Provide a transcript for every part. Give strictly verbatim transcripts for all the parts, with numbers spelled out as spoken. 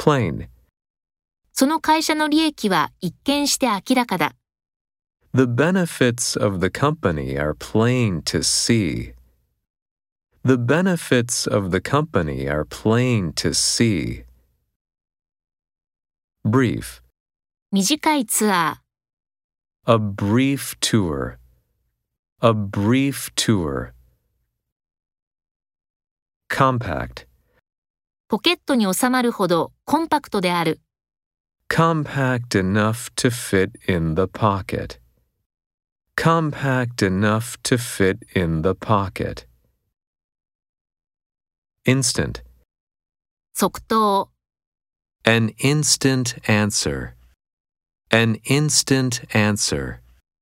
plain. その会社の利益は一見して明らかだ。 The benefits of the company are plain to see. The benefits of the company are plain to see. Brief. 短いツアー。 A brief tour. A brief tour. Compact. ポケットに収まるほどコンパクトである。 Compact enough to fit in the pocket. Compact enough to fit in the pocket. Instant. 即答。 An instant answer. An instant answer.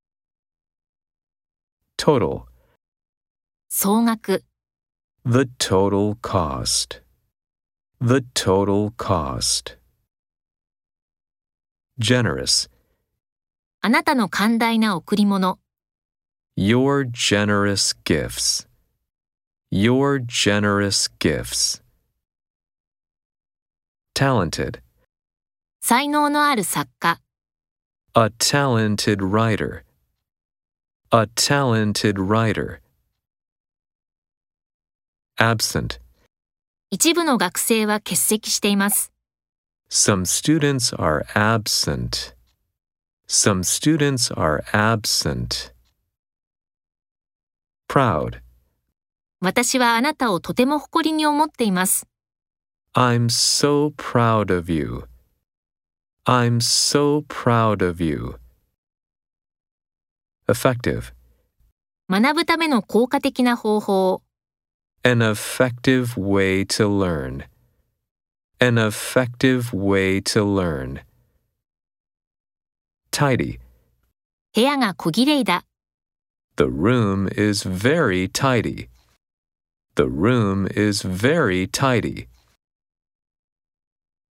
Total. 総額。 The total cost. The total cost. Generous. あなたの寛大な贈り物。 Your generous gifts. Your generous gifts. Talented. 才能のある作家。 A talented writer. A talented writer. Absent. 一部の学生は欠席しています。 Some students are absent. Some students are absent. Proud. 私はあなたをとても誇りに思っています。 I'm so proud of you. I'm so proud of you. Effective. 学ぶための効果的な方法。 An effective way to learn. An effective way to learn. Tidy. 部屋が小綺麗だ。 The room is very tidy. The room is very tidy.